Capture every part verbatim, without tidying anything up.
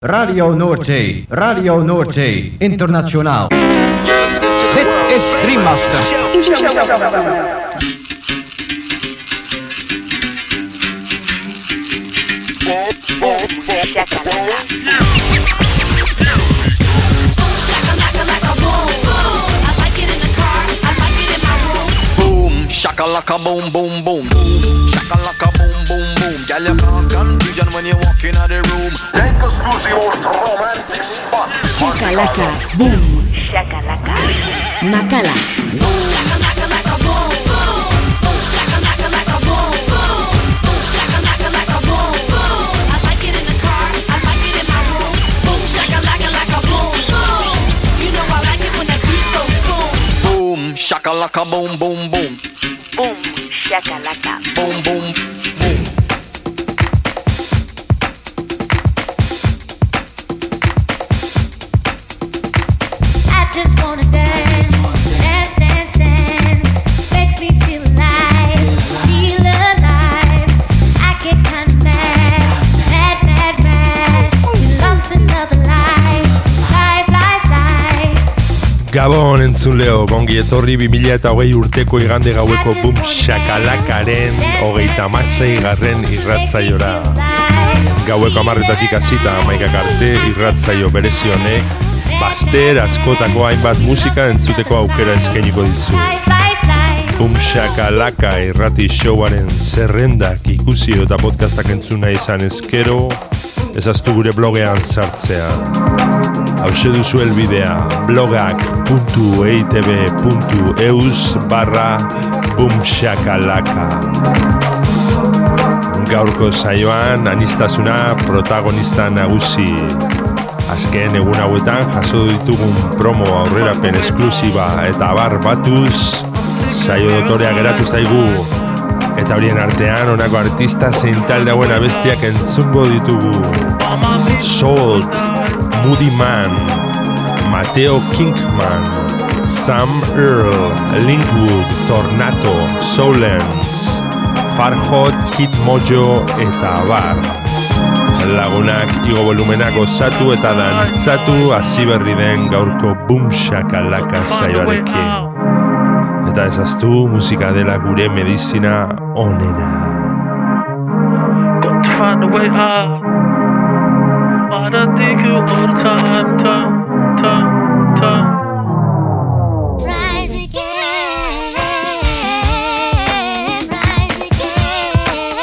Radio Noordzee, Radio Noordzee, internationaal. Dit is Dreammaster. Shakalaka boom boom boom, shakalaka boom boom boom. Girl, you cause confusion when you walk in the room. Take us to the most romantic spot. Shakalaka boom, shakalaka Makala. Boom shakalaka laka boom boom, boom shakalaka laka boom boom, boom shakalaka laka boom boom. I like it in the car, I like it in my room. Boom shakalaka laka boom boom. You know I like it when that beat goes boom. Boom shakalaka boom boom boom. Boom, shakalaka. Boom, boom, boom. I just wanna dance, dance, dance, dance. Makes me feel alive, feel alive. I get kinda mad, mad, mad, mad. We lost another life, life, life, life. Gabon entzuleo, gongi etorri bi mila hogei urteko igande gaueko Boom Shakalakaren hogeita hamasei garren irratzaiora. Gaueko hamarretatik hasita hamaikak arte irratzaio berezi honek baster askotako hainbat musika entzuteko aukera eskainiko dizu. Boom Shakalaka irrati showaren zerrendak ikusi eta podcastak entzuna izan ezkero, ezaztu gure blogean sartzea. Hauxe duzu elbidea blogak puntu eitb puntu eus barra boomshakalaka. Gaurko saioan aniztasuna protagonista nagusi. Azken egun hauetan jaso ditugun promo aurrerapen esklusiba eta abar batuz saio dotorea geratu zaigu. Eta horien artean honako artista zein talde hauen abestiak entzungo ditugu. Salt, Moody Man, Mateo Kingman, Sam Earl, Linkwood, Tornato, Solens, Farhot, Kid Mojo eta abar. Lagunak igo volumena gozatu eta dantzatu hasi berri den gaurko Boom Shakalaka saioarekin. Eta ezaztu musika dela gure medizina onena. Got to find a way out. Why'd I think you all the time, time, time, time. Rise again, rise again,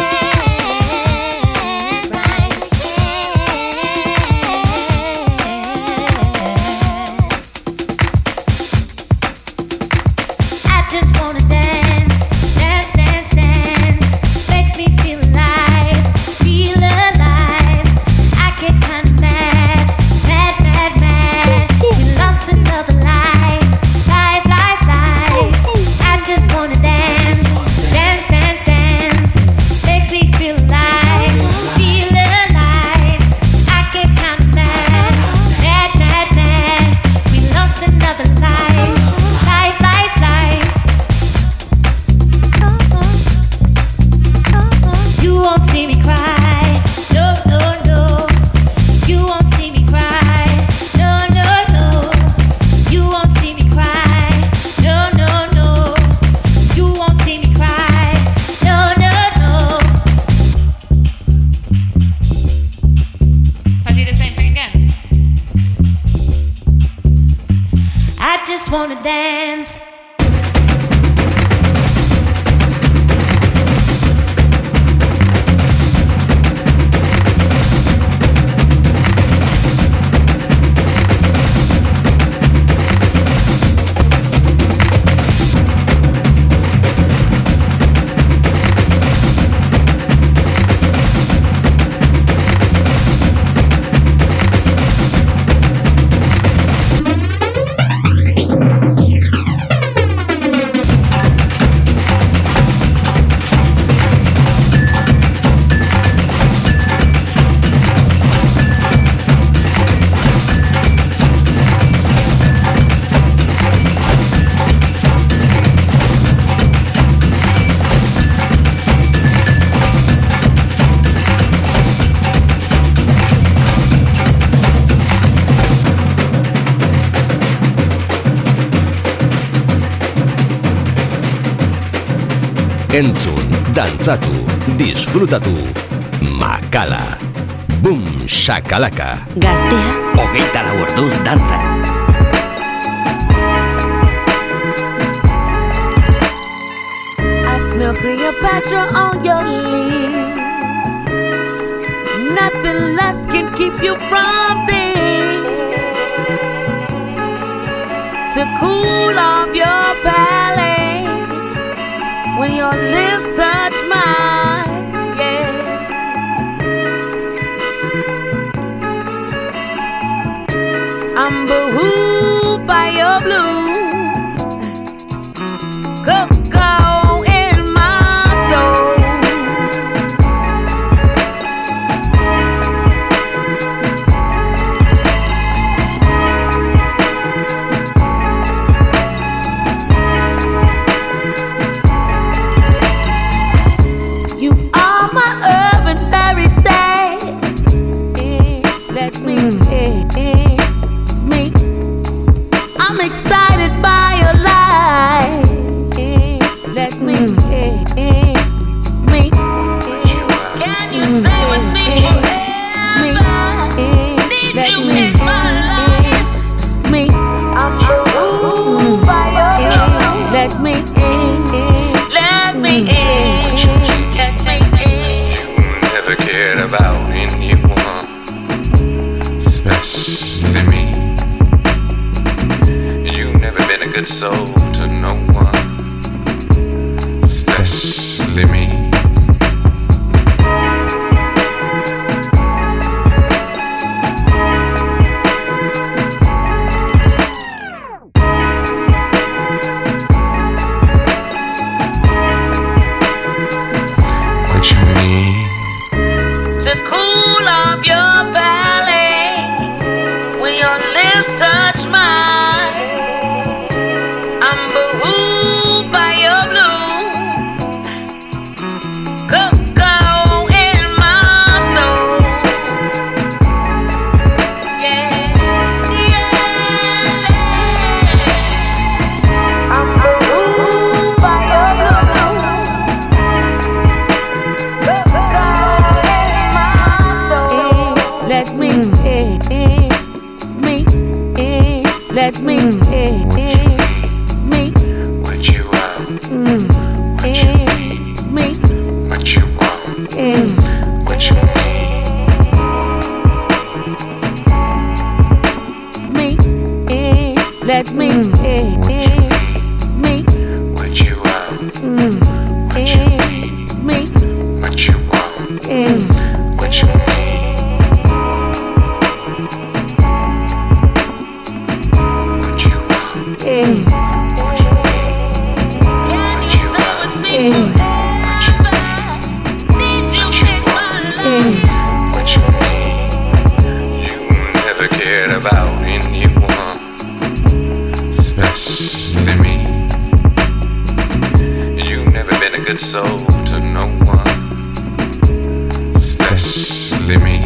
rise again. I just wanna dance, dance, dance, dance. Makes me feel alive, feel alive. I get kinda mad, mad, mad, mad. We lost another life, life, life, life. I just wanna dance, dance, dance, dance. Makes me feel alive, feel alive. I get kinda mad, mad, mad, mad. We lost another life, life, life, life. You won't see me cry, no, no, no. You won't see me cry, no, no, no. You won't see me cry, no, no, no. You won't see me cry, no, no, no. I do the same thing again. I just wanna dance. entzun, dantzatu, disfrutatu. Makala. Boom, shakalaka. Gaztea. Hogeita lau orduz dantzan. I smell Cleopatra on your lips. Nothing less can keep you from this. To cool off your palate when your lips touch mine, yeah. I'm behooved by your blues, cocoa in my soul. You are my urban fairy tale. Let me, mm. me. I'm excited by your life. Let me, mm. me. Can you stay with me forever? Need you in my life. Me. I'm moved by your love. Let me in. Let me in. Let me in. You never cared about anyone, especially me. You've never been a good soul to no one, especially me. What you mean? To cool off your belly when your lips touch mine. I'm behooved by your blue, cocoa in my soul. Yeah, yeah. I'm behooved by your blue, cocoa in my soul. Let me, me, let me, me. What you want? What you need? Me. What you want? What you need? Me. Let me. Me. What you want? What you need? Me. What you want? What you need? About anyone, especially me. You've never been a good soul to no one, especially me.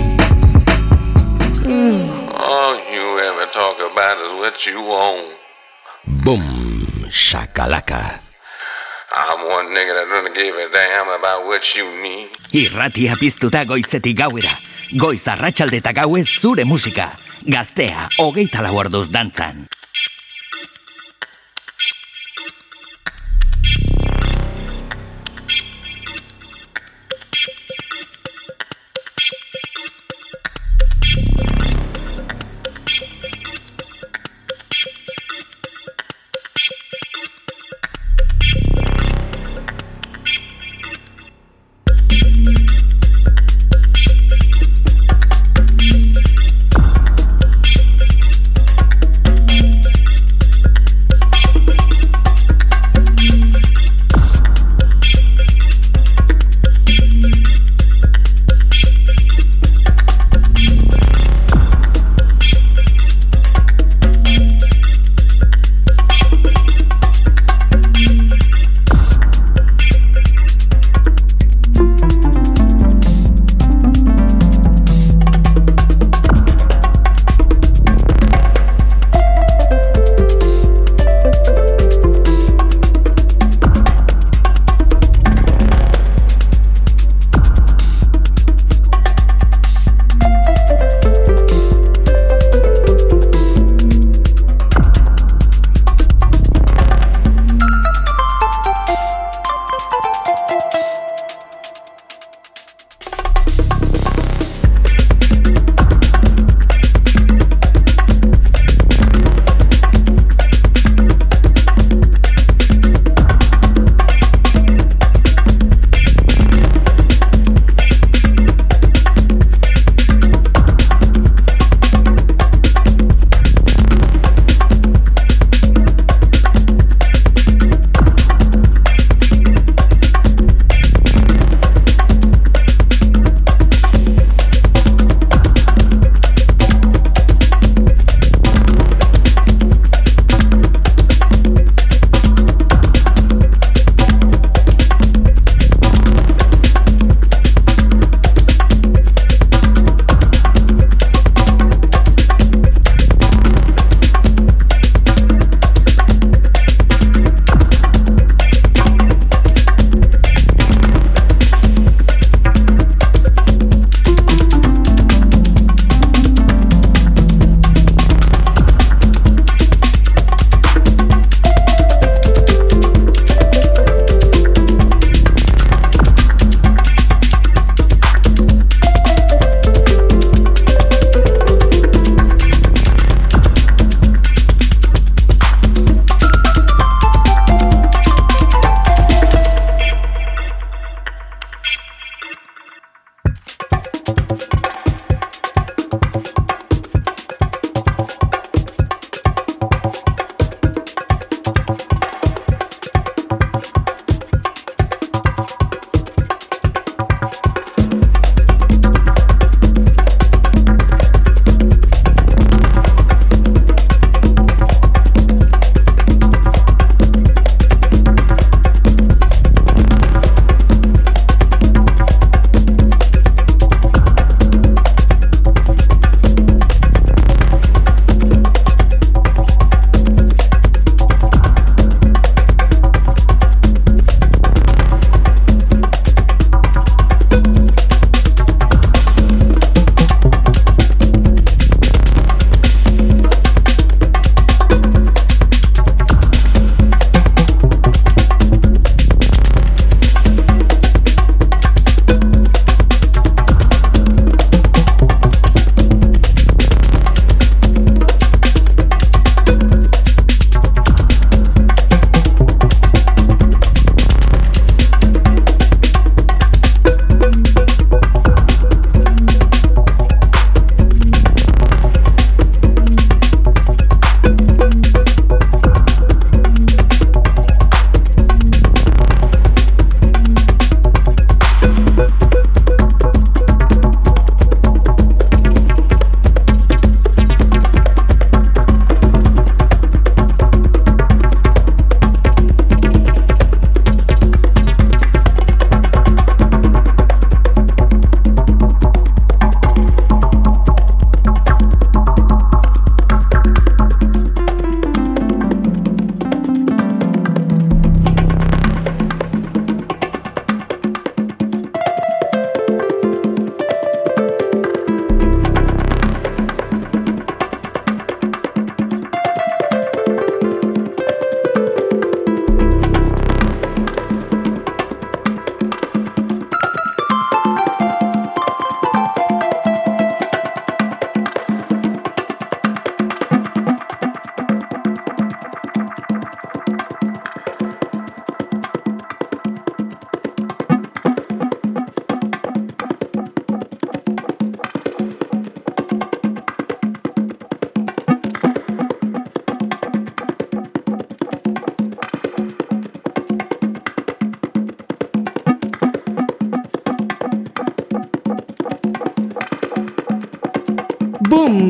Mm. All you ever talk about is what you own. Boom, shakalaka. I'm one nigga that doesn't give a damn about what you need. Irratia piztuta goizetik gauera. Goiz arratsalde eta gauez zure musika. Gaztea, hogeita lau orduz dantzan.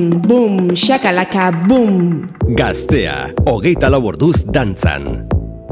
Boom, boom, shakalaka, boom. Gaztea, hogeita lau orduz dantzan.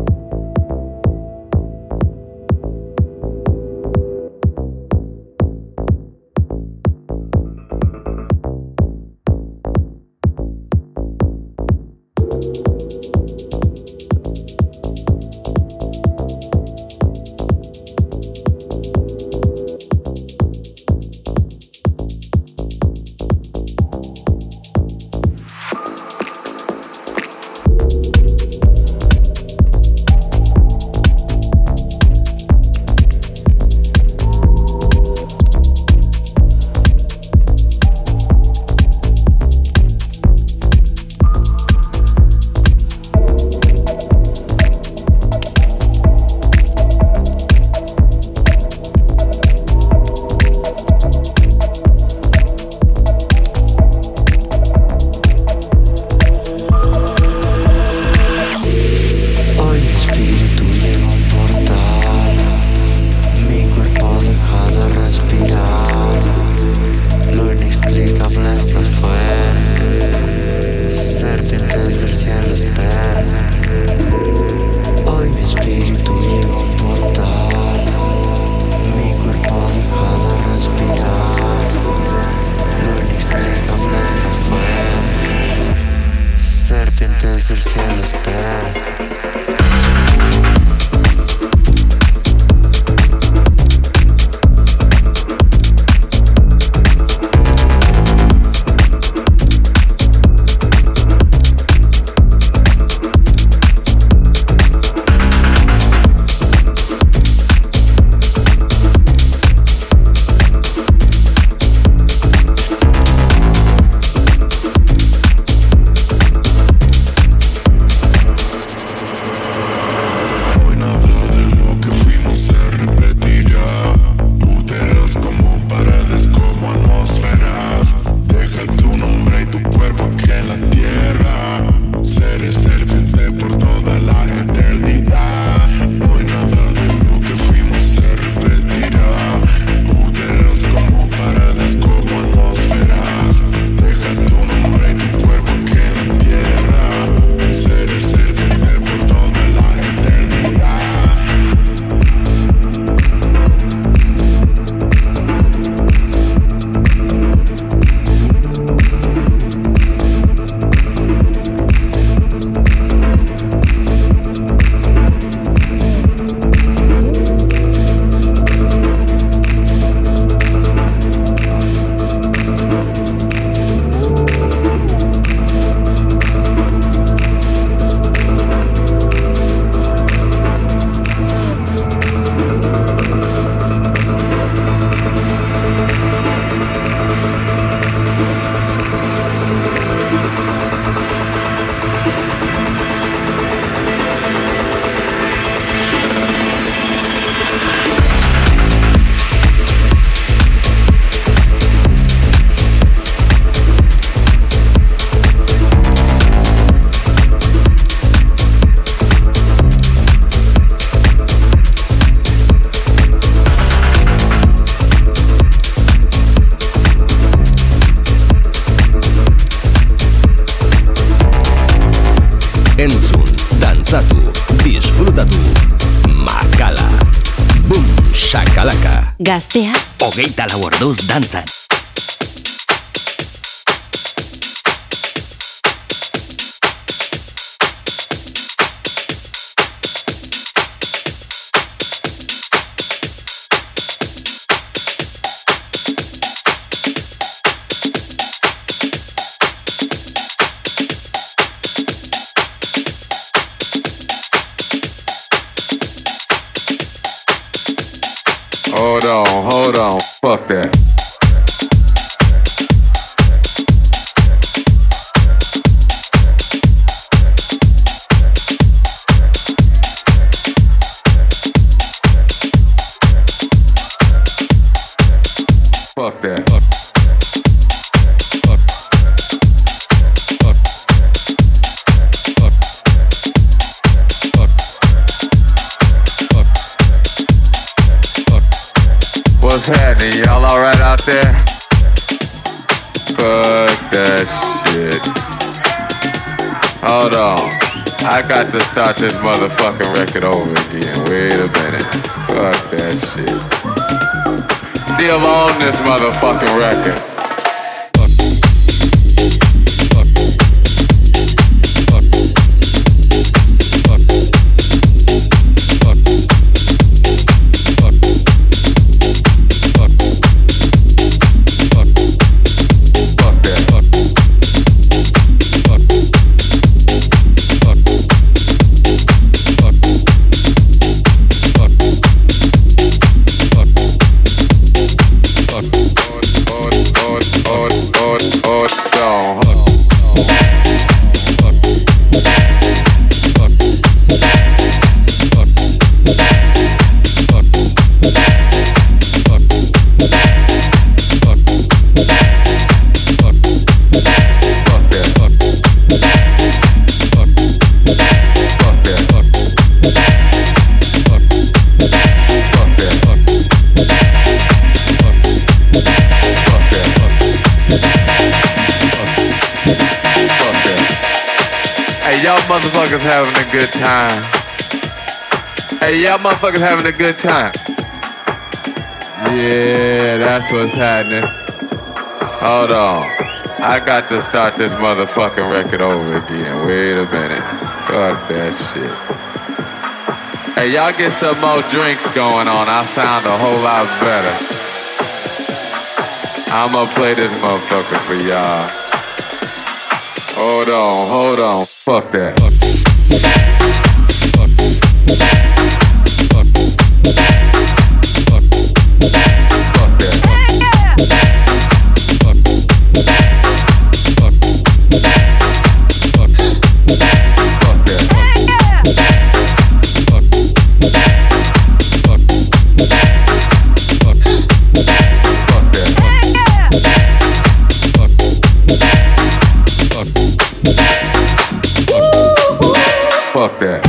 Entzun, dantzatu, disfrutatu. Makala. Boom, shakalaka. Gaztea, hogeita lau orduz dantzan. Hold on, hold on, fuck that. Fuck that. Fuck. What's happening? Y'all alright Hold on. I got to start this motherfucking record over again. Wait a minute. Fuck that shit. Still on this motherfucking record. Motherfuckers having a good time. Hey, y'all motherfuckers having a good time. Yeah, that's what's happening. Hold on. I got to start this motherfucking record over again. Wait a minute. Fuck that shit. Hey, y'all get some more drinks going on. I sound a whole lot better. I'ma play this motherfucker for y'all. Hold on, hold on. Fuck that. Fuck. Fuck that.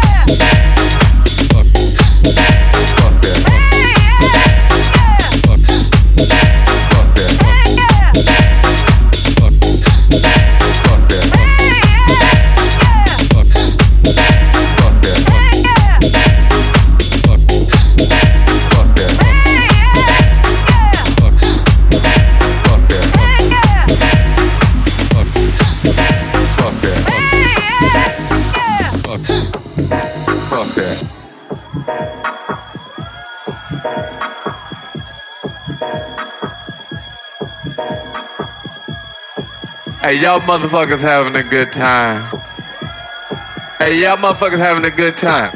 Hey, y'all motherfuckers having a good time. Hey, y'all motherfuckers having a good time.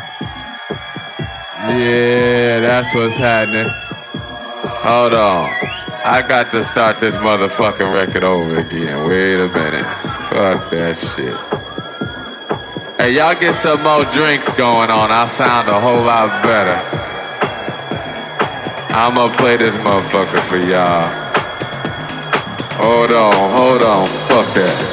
Yeah, that's what's happening. Hold on. I got to start this motherfucking record over again. Wait a minute. Fuck that shit. Hey, y'all get some more drinks going on. I sound a whole lot better. I'ma play this motherfucker for y'all. Hold on, hold on, fuck that.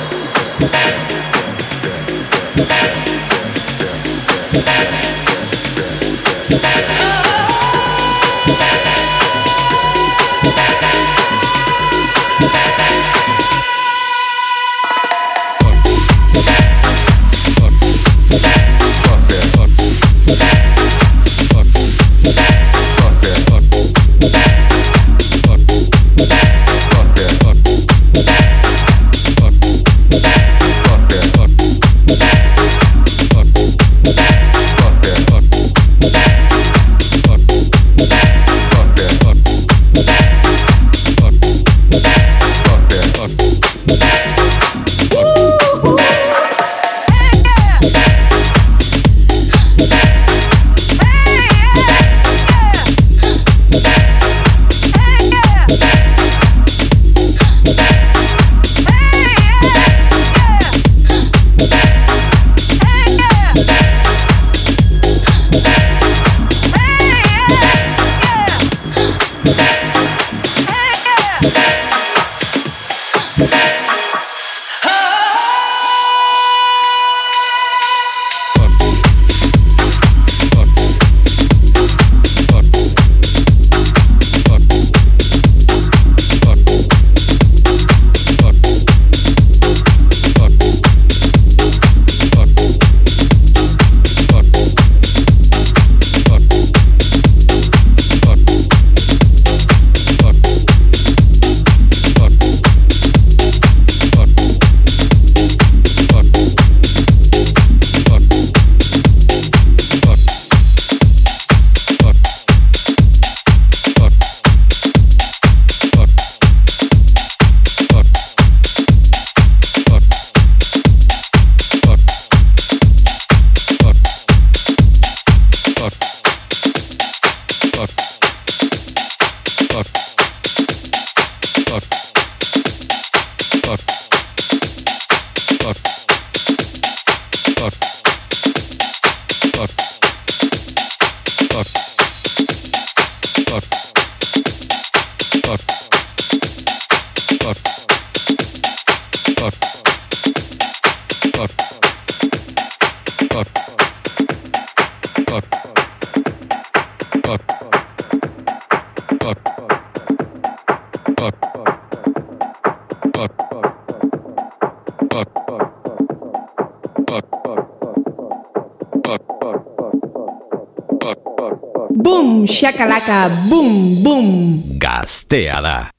Boom, shakalaka, boom, boom. Gaztea da.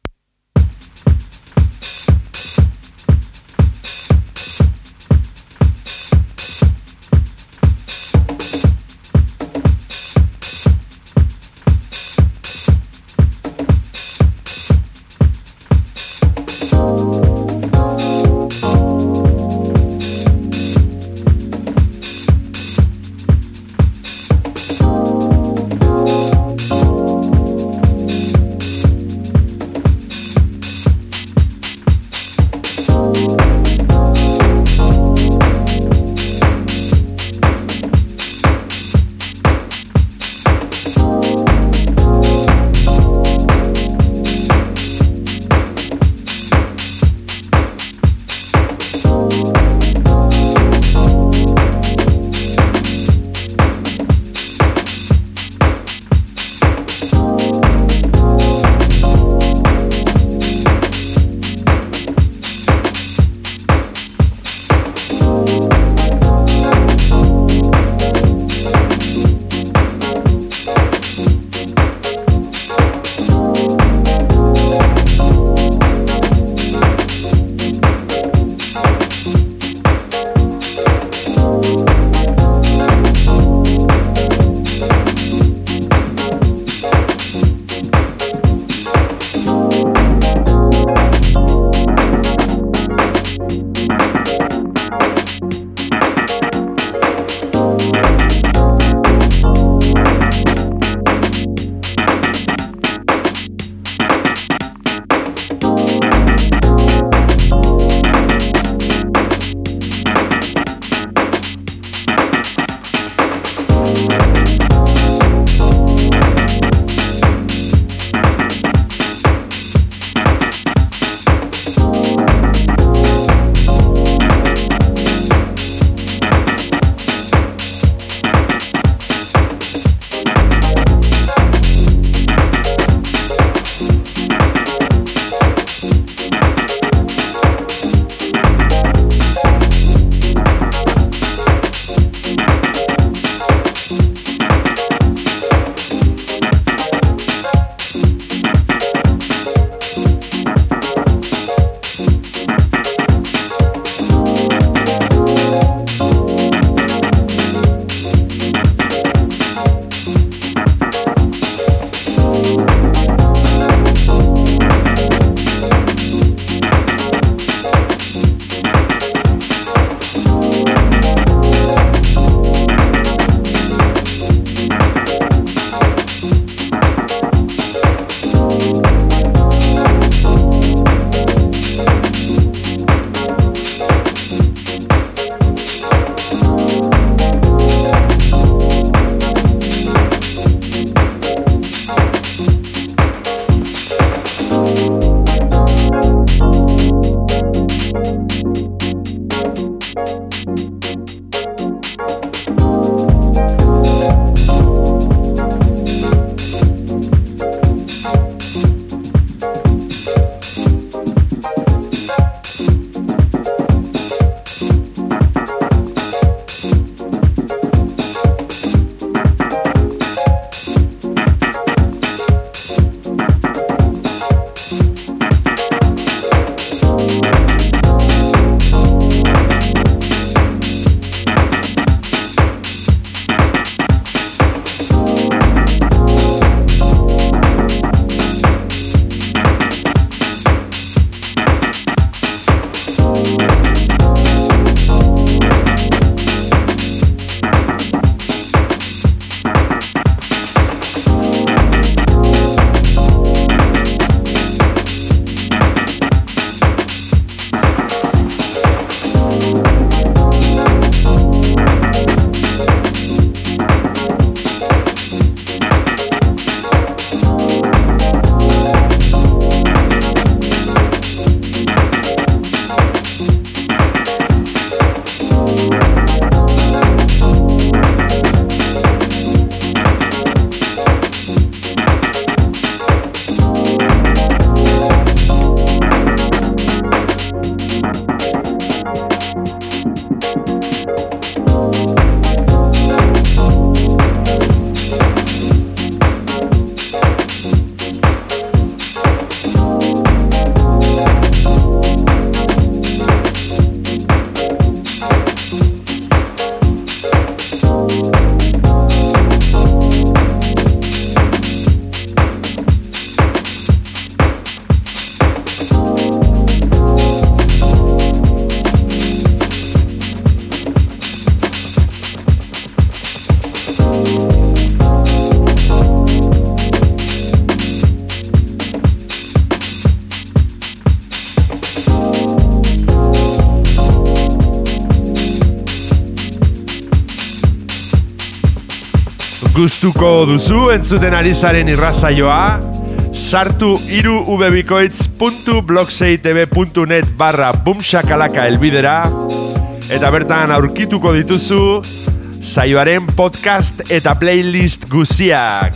Gustuko duzu entzuten ari zaren irrasaioa, sartu hiru ubebikoitz puntu blogseitb puntu net barra bumshakalaka elbidera, eta bertan aurkituko dituzu saioaren podcast eta playlist guziak.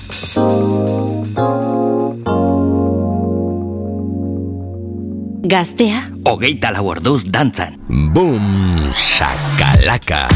Gaztea, hogeita lau orduz dantzan. Bum, shakalaka.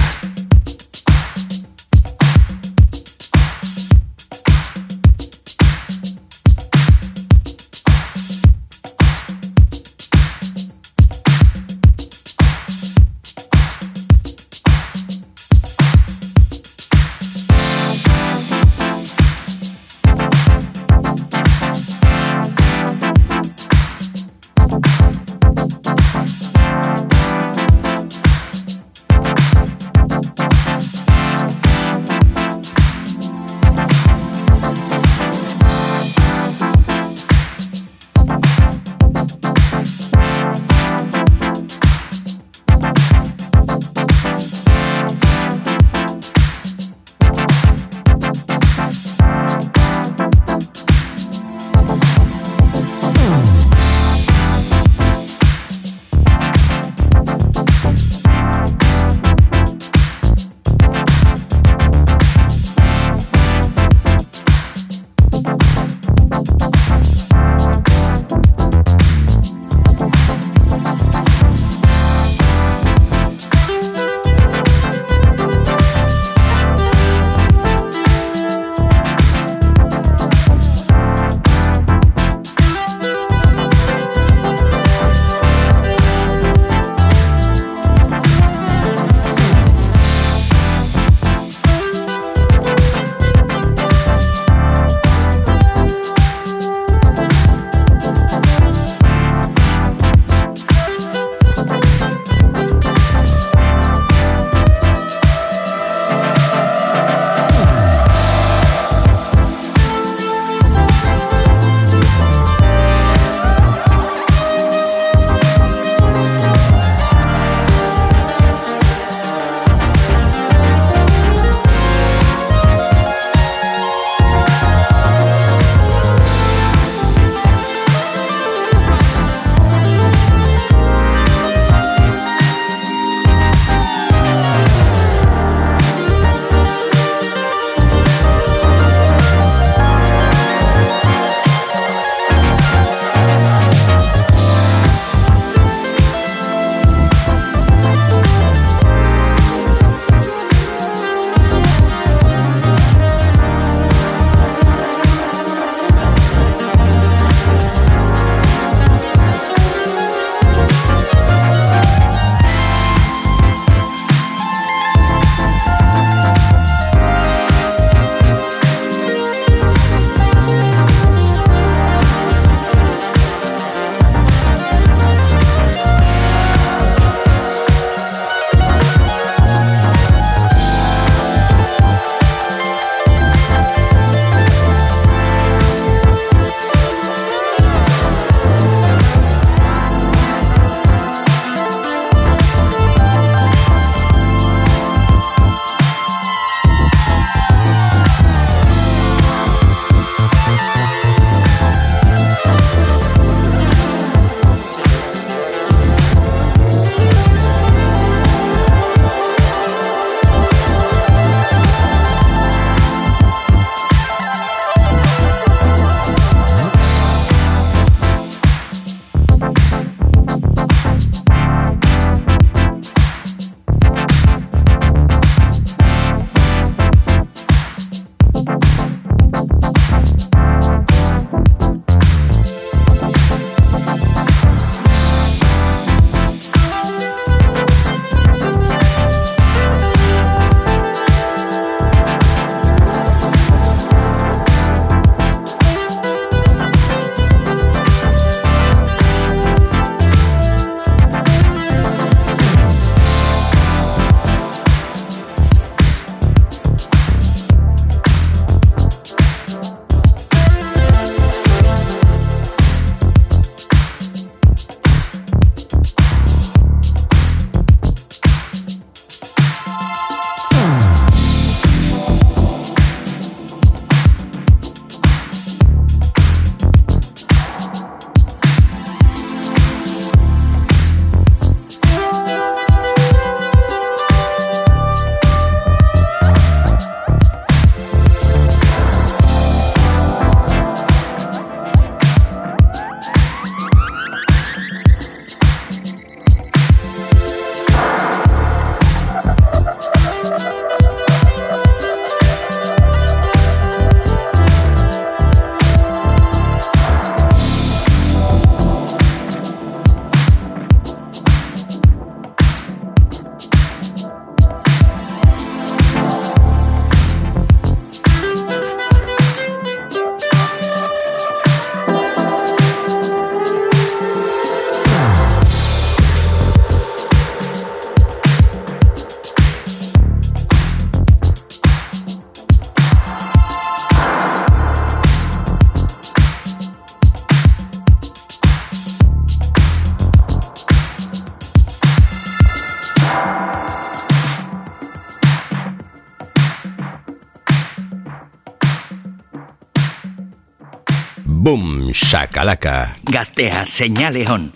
Boom, shakalaka. Gaztea, seinale hon.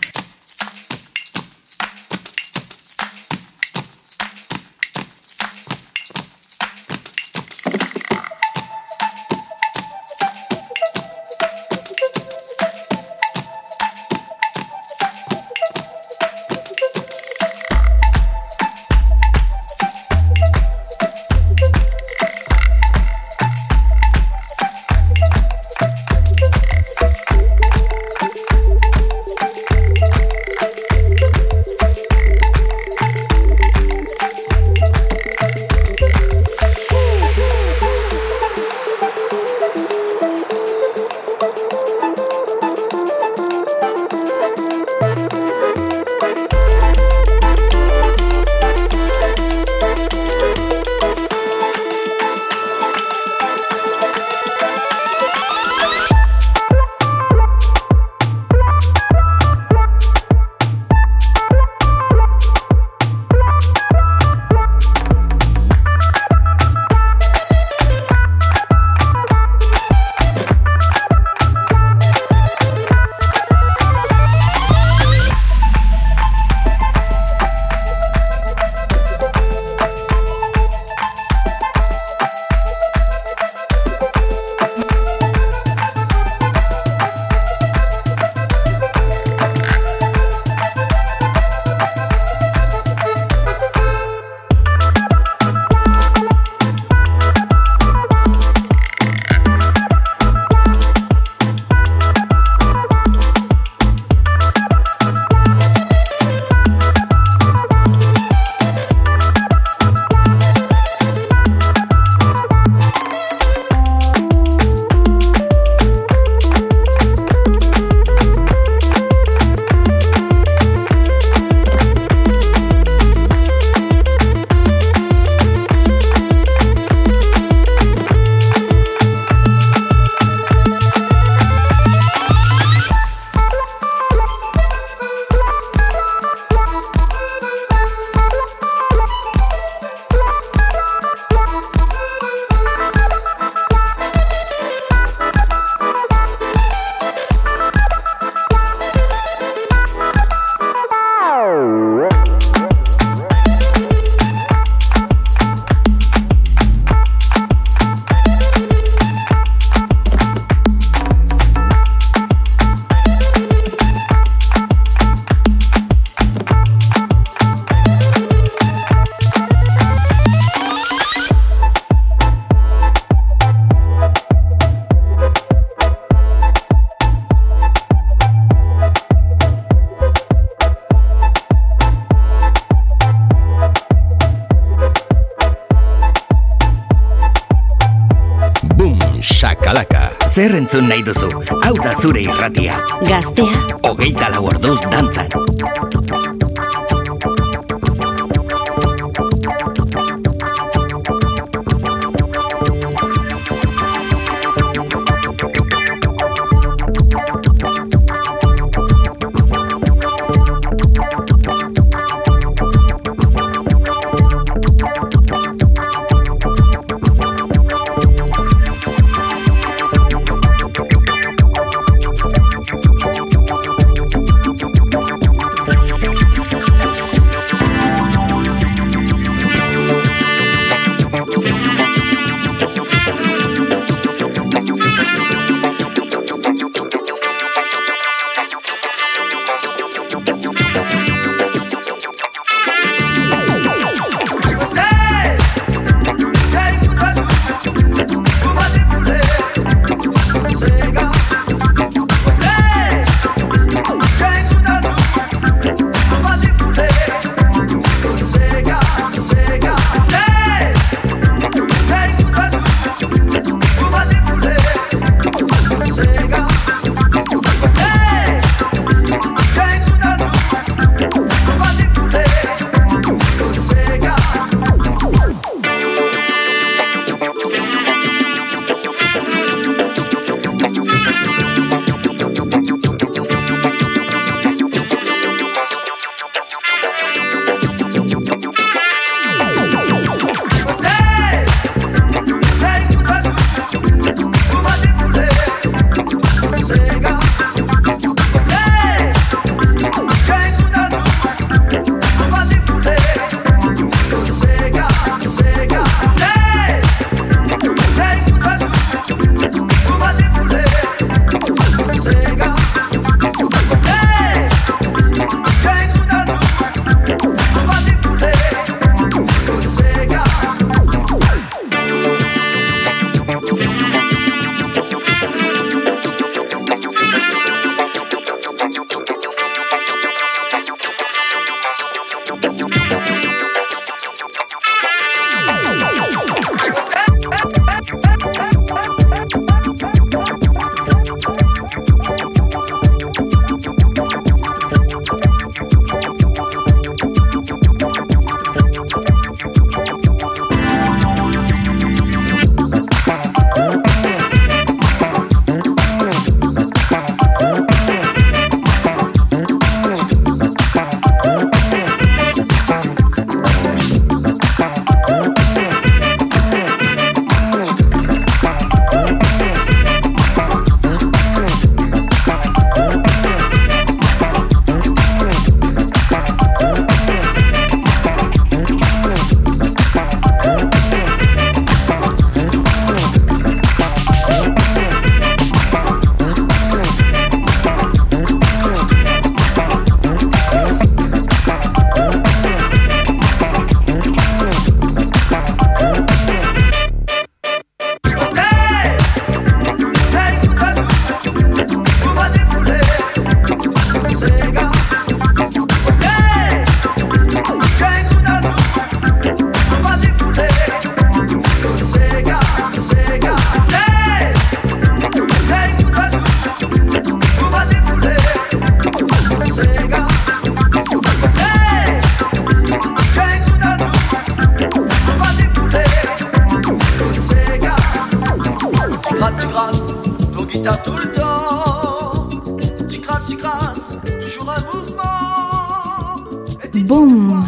Zer entzun nahi duzu? Hau da zure irratia. Gaztea. Hogeita lau orduz dantzan.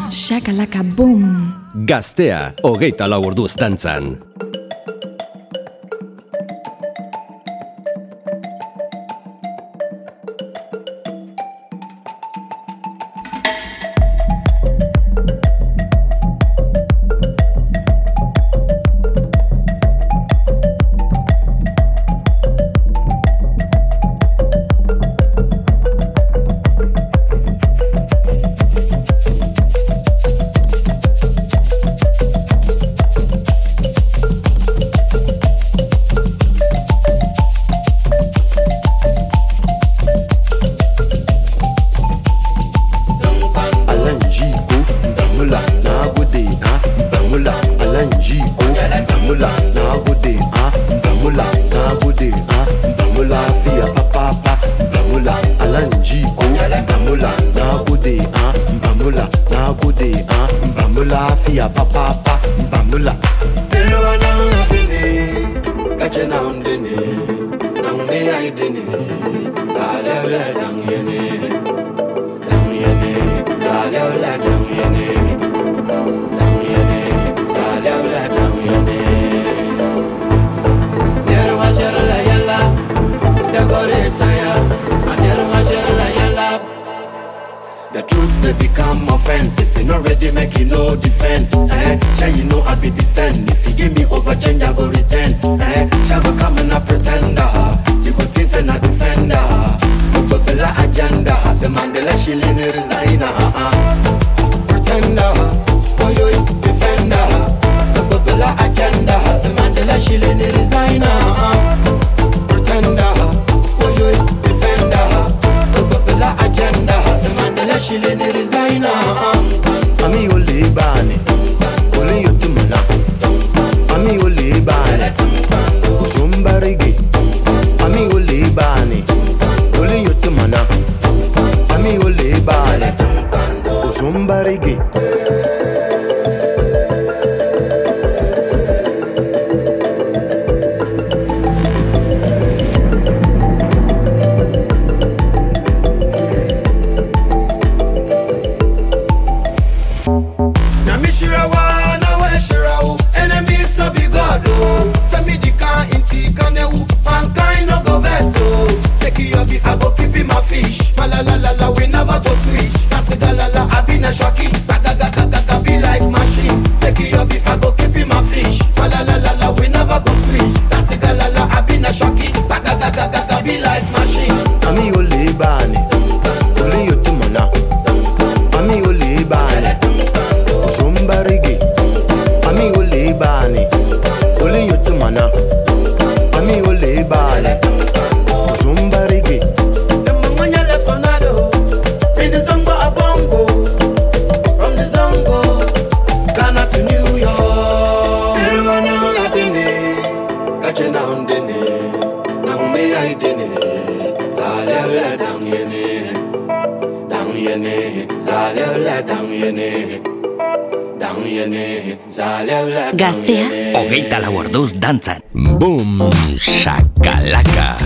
shakalaka boom. Gaztea, hogeita lau orduz dantzan. Gaztea, hogeita lau orduz dantzan. Boom, shakalaka.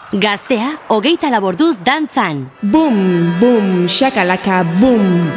Gaztea, hogeita laborduz dantzan. Boom, boom, shakalaka, boom.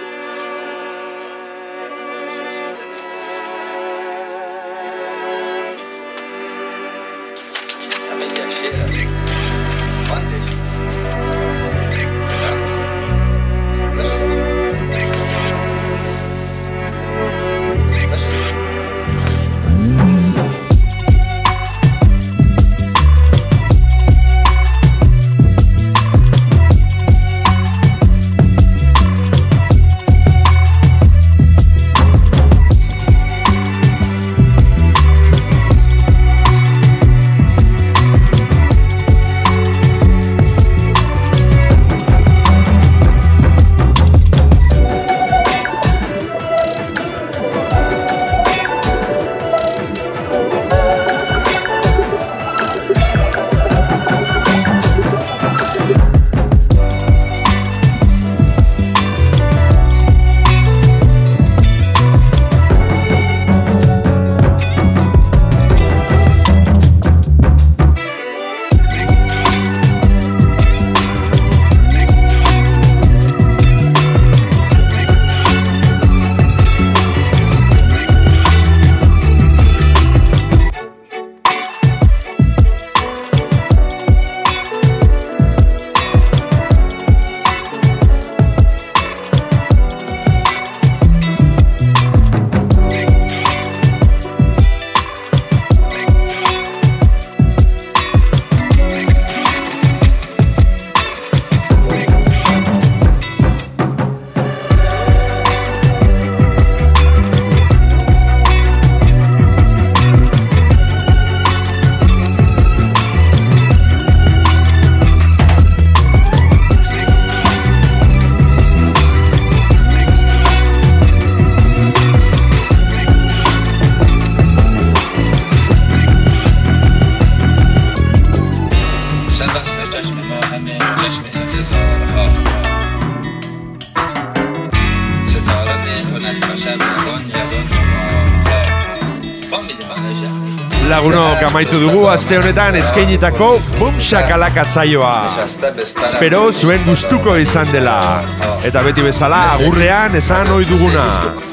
Lagunok amaitu dugu aste honetan eskainitako Boom Shakalaka saioa. Espero zuen gustuko izan dela. Eta beti bezala agurrean esan ohi duguna.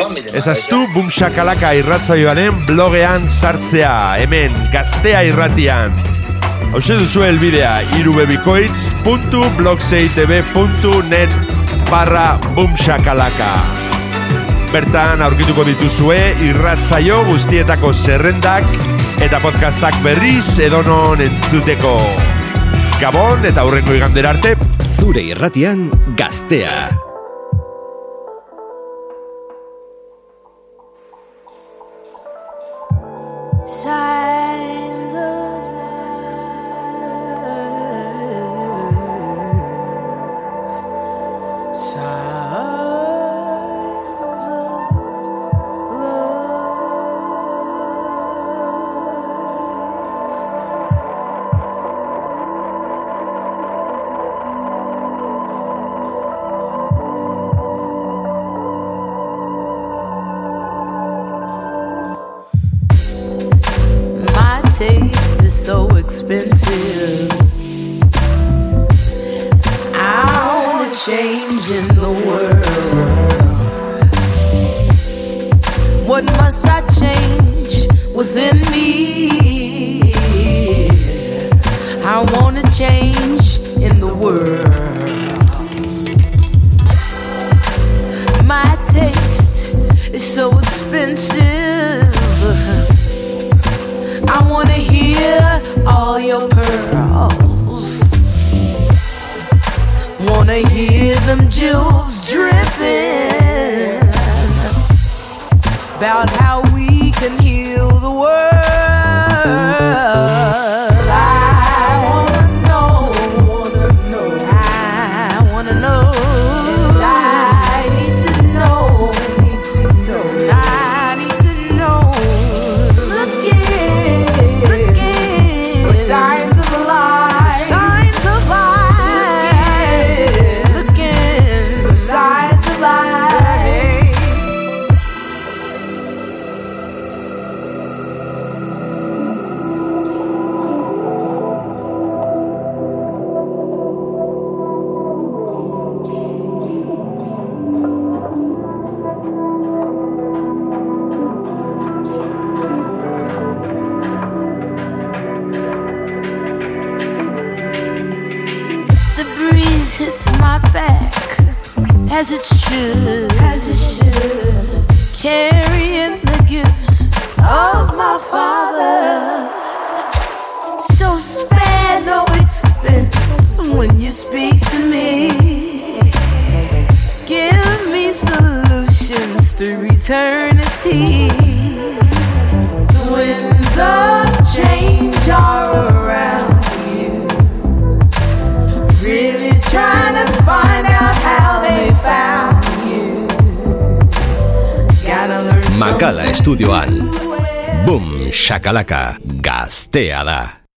Ezaztu Boom Shakalaka irratsaioaren blogean sartzea, hemen Gaztea irratian. Hauxe duzu helbidea irubebikoitz puntu blogseitb puntu net barra Boom Shakalaka. Bertan aurkituko dituzue irratsaio guztietako zerrendak eta podcastak berriz edonon entzuteko. Gabon eta hurrengo igandera arte. Zure irratian Gaztea. Signs of life. Signs taste is so expensive. I wanna change in the world. What must I change within me? I wanna change in the world. My taste is so expensive. I wanna hear all your pearls. Wanna hear them jewels dripping. About how we can heal the world. I wanna know, wanna know, I wanna know. And I need to know, need to know, I need to know. Looking, looking for signs of life, signs of life. Looking, looking for signs of life. my back, as it should, as it should, carrying the gifts of my Father. So spare no expense when you speak to me. Give me solutions through eternity. The winds of change are around you, really trying to find out how they found you. Gotta learn. Makala Estudioan Boom Shakalaka Gaztea da.